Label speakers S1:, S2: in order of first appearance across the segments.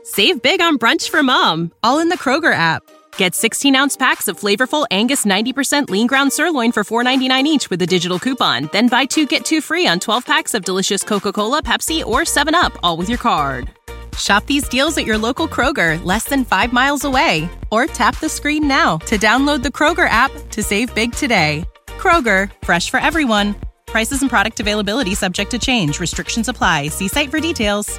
S1: Save big on brunch for mom, all in the Kroger app. Get 16-ounce packs of flavorful Angus 90% lean ground sirloin for $4.99 each with a digital coupon. Then buy 2, get 2 free on 12 packs of delicious Coca-Cola, Pepsi, or 7-Up, all with your card. Shop these deals at your local Kroger, less than 5 miles away. Or tap the screen now to download the Kroger app to save big today. Kroger, fresh for everyone. Prices and product availability subject to change. Restrictions apply. See site for details.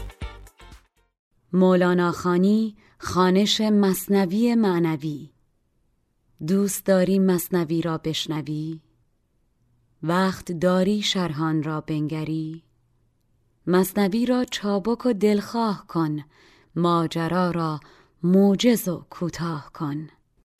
S2: مولانا خانی، خوانش مثنوی معنوی. دوست داری مثنوی را بشنوی؟ وقت داری شرحان را بنگری؟ مثنوی را چابک و دلخواه کن، ماجرا را موجز و کوتاه کن.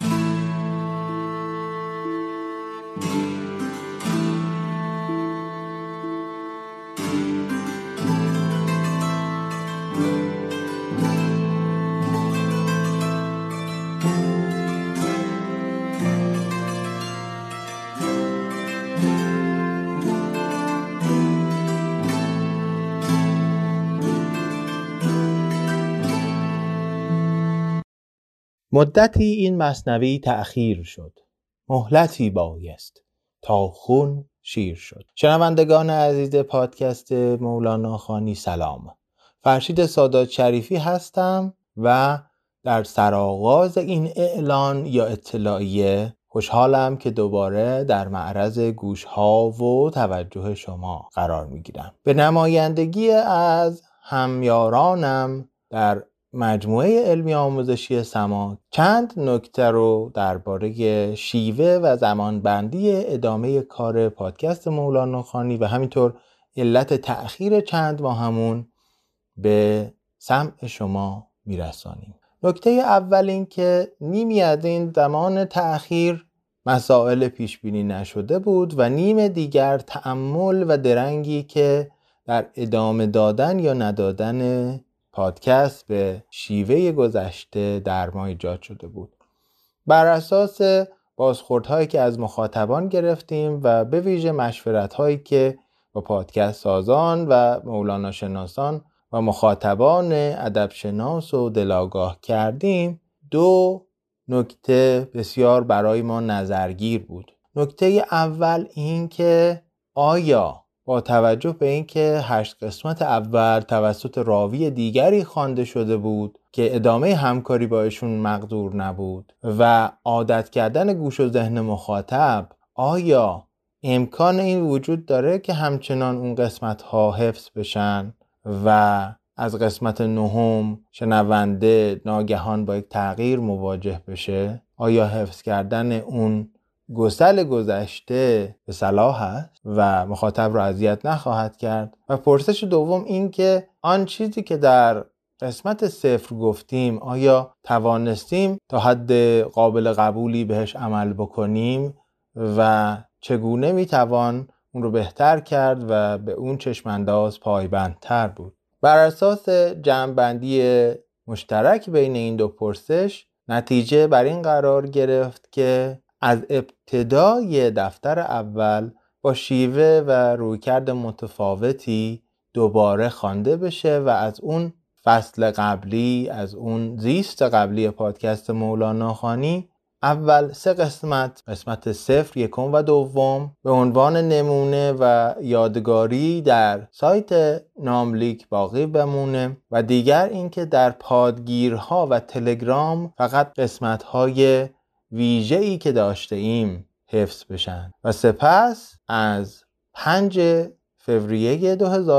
S3: مدتی این مثنوی تأخیر شد، مهلتی بایست تا خون شیر شد. شنوندگان عزیز پادکست مولانا خانی سلام. فرشید سادات شریفی هستم و در سرآغاز این اعلان یا اطلاعیه خوشحالم که دوباره در معرض گوش‌ها و توجه شما قرار می‌گیرم. به نمایندگی از همیارانم در مجموعه علمی آموزشی سما چند نکته رو درباره شیوه و زمانبندی ادامه کار پادکست مولانا خانی و همینطور علت تأخیر چند ماهمون به سمع شما میرسانیم. نکته اول این که نیمی از این زمان تأخیر مسائل پیش بینی نشده بود و نیم دیگر تأمل و درنگی که در ادامه دادن یا ندادن پادکست به شیوه گذشته در ما ایجاد شده بود. بر اساس بازخوردهایی که از مخاطبان گرفتیم و به ویژه مشورت‌هایی که با پادکست سازان و مولانا شناسان و مخاطبان ادب شناس و دلاگاه کردیم، 2 نکته بسیار برای ما نظرگیر بود. نکته اول این که آیا با توجه به اینکه 8 قسمت اول توسط راوی دیگری خوانده شده بود که ادامه همکاری با ایشون مقدور نبود و عادت کردن گوش و ذهن مخاطب، آیا امکان این وجود داره که همچنان اون قسمت ها حفظ بشن و از قسمت 9 شنونده ناگهان با یک تغییر مواجه بشه؟ آیا حفظ کردن اون گسل گذشته به صلاح است و مخاطب را اذیت نخواهد کرد؟ و پرسش دوم این که آن چیزی که در قسمت 0 گفتیم آیا توانستیم تا حد قابل قبولی بهش عمل بکنیم و چگونه میتوان اون رو بهتر کرد و به اون چشمانداز پایبندتر بود؟ بر اساس جمع‌بندی مشترک بین این 2 پرسش نتیجه بر این قرار گرفت که از ابتدای دفتر اول با شیوه و رویکرد متفاوتی دوباره خوانده بشه و از اون فصل قبلی، از اون زیست قبلی پادکست مولانا خانی اول 3 قسمت 0، 1 و 2 به عنوان نمونه و یادگاری در سایت ناملیک باقی بمونه و دیگر اینکه در پادگیرها و تلگرام فقط قسمت‌های ویژه‌ای که داشته ایم حفظ بشن و سپس از 5 فوریه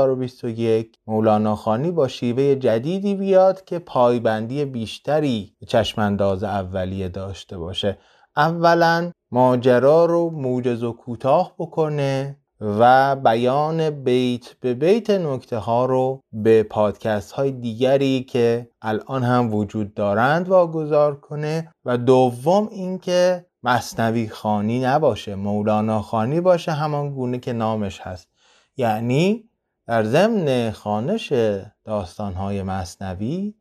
S3: 2021 مولانا خانی با شیوه جدیدی بیاد که پایبندی بیشتری به چشمانداز اولیه داشته باشه. اولا ماجرا رو موجز و کوتاه بکنه و بیان بیت به بیت نکته ها رو به پادکست های دیگری که الان هم وجود دارند واگذار کنه و دوم اینکه مثنوی خوانی نباشه، مولانا خوانی باشه، همان گونه که نامش هست. یعنی در ضمن خوانش داستان‌های مثنوی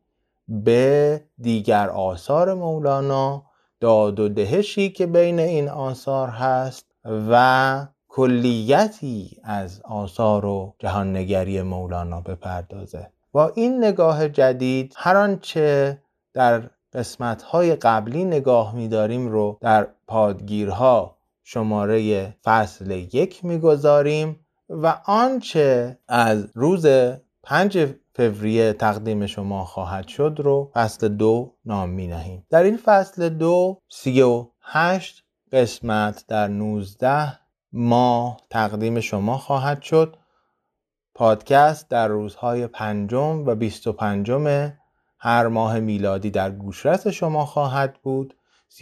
S3: به دیگر آثار مولانا، داد و دهشی که بین این آثار هست و کلیتی از آثار و جهاننگری مولانا بپردازه. با این نگاه جدید هر آنچه در قسمت‌های قبلی نگاه می‌داریم رو در پادگیرها شماره فصل 1 می‌گذاریم و آنچه از روز 5 فوریه تقدیم شما خواهد شد رو فصل 2 نام می‌نهیم. در این فصل 2 38 قسمت در 19 ماه تقدیم شما خواهد شد. پادکست در روزهای 5 و 25 هر ماه میلادی در گوشرس شما خواهد بود.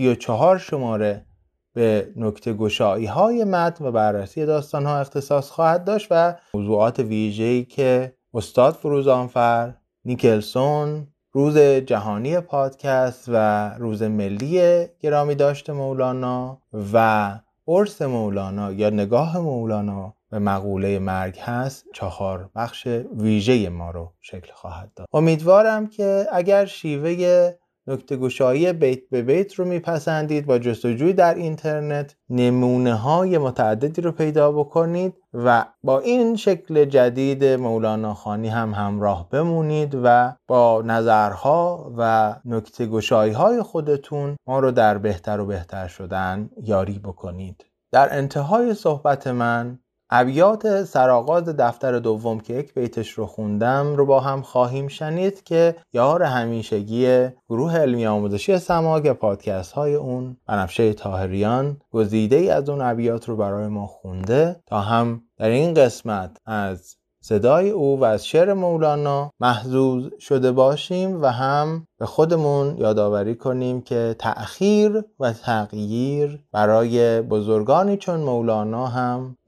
S3: 34 شماره به نکته گشایی های متن و بررسی داستان ها اختصاص خواهد داشت و موضوعات ویژه‌ای که استاد فروزانفر، نیکلسون، روز جهانی پادکست و روز ملی گرامی داشت مولانا و عرس مولانا یا نگاه مولانا به مقوله مرگ هست 4 بخش ویژه ما رو شکل خواهد داد. امیدوارم که اگر شیوه نکته گشایی بیت به بیت رو میپسندید با جستجوی در اینترنت نمونه های متعددی رو پیدا بکنید و با این شکل جدید مولانا خوانی هم همراه بمونید و با نظرها و نکته گشایی های خودتون ما رو در بهتر و بهتر شدن یاری بکنید. در انتهای صحبت من ابیات سرآغاز دفتر دوم که 1 بیتش رو خوندم رو با هم خواهیم شنید که یار همیشگی گروه علمی آموزشی سماک پادکست های اون بنفشه طاهریان گزیده‌ای از اون ابیات رو برای ما خونده تا هم در این قسمت از صدای او و از شعر مولانا محظوظ شده باشیم و هم به خودمون یادآوری کنیم که تأخیر و تغییر برای بزرگانی چون مولانا هم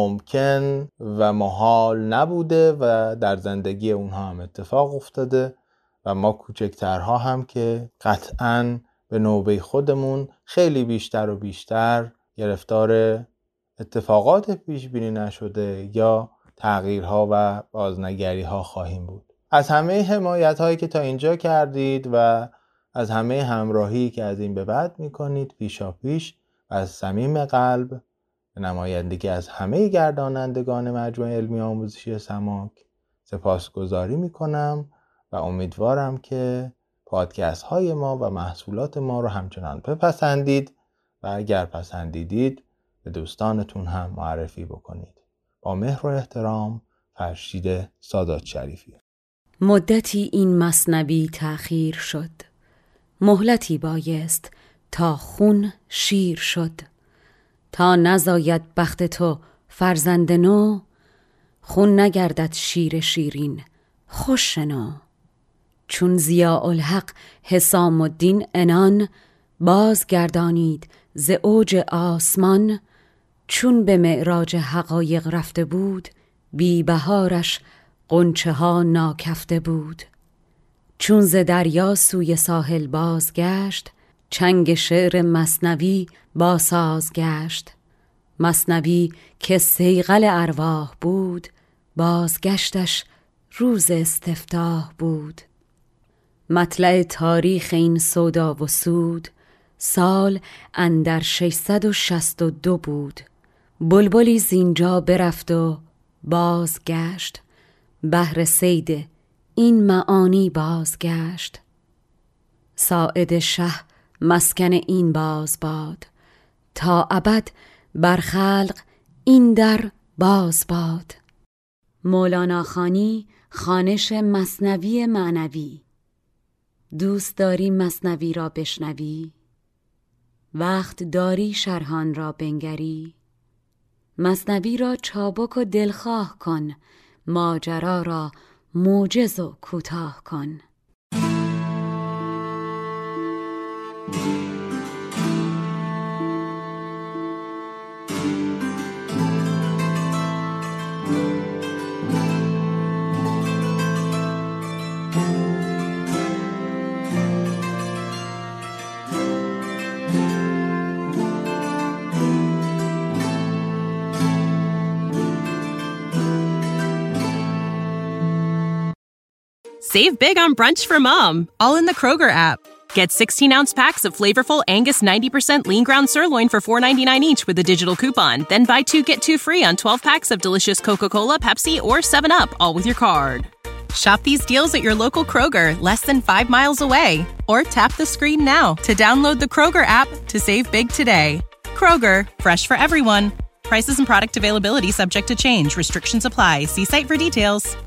S3: ناممکن و محال نبوده و در زندگی اونها هم اتفاق افتاده و ما کوچکترها هم که قطعاً به نوبه خودمون خیلی بیشتر و بیشتر گرفتار اتفاقات پیش بینی نشده یا تغییرها و بازنگریها خواهیم بود. از همه حمایت هایی که تا اینجا کردید و از همه همراهی که از این به بعد میکنید پیشاپیش و از صمیم قلب به نمایندگی از همه گردانندگان مجموعه علمی آموزشی سماک سپاسگزاری میکنم و امیدوارم که پادکست های ما و محصولات ما رو همچنان بپسندید و اگر پسندیدید به دوستانتون هم معرفی بکنید. با مهر و احترام، فرشید سادات شریفی.
S2: مدتی این مثنوی تأخیر شد، مهلتی بایست تا خون شیر شد. تا نزاید بخت تو فرزند نو، خون نگردد شیر شیرین خوش شنو. چون ضیاء الحق حسام الدین عنان، بازگردانید ز اوج آسمان. چون به معراج حقایق رفته بود، بی بهارش غنچه ها ناکفته بود. چون ز دریا سوی ساحل بازگشت، چنگ شعر مثنوی با ساز گشت. مثنوی که صیقل ارواح بود، بازگشتش روز استفتاح بود. مطلع تاریخ این سودا و سود، سال اندر 662 بود. بلبلی زینجا برفت و بازگشت، بهر صید این معانی بازگشت. ساعد شه مسکن این باز باد، تا ابد بر خلق این در باز باد. مولانا خوانی خوانش مثنوی معنوی. دوست داری مثنوی را بشنوی؟ وقت داری شرحان را بنگری؟ مثنوی را چابک و دلخواه کن، ماجرا را موجز و کوتاه کن.
S1: Save big on brunch for mom, all in the Kroger app. Get 16-ounce packs of flavorful Angus 90% lean ground sirloin for $4.99 each with a digital coupon. Then buy 2, get 2 free on 12 packs of delicious Coca-Cola, Pepsi, or 7-Up, all with your card. Shop these deals at your local Kroger, less than 5 miles away. Or tap the screen now to download the Kroger app to save big today. Kroger, fresh for everyone. Prices and product availability subject to change. Restrictions apply. See site for details.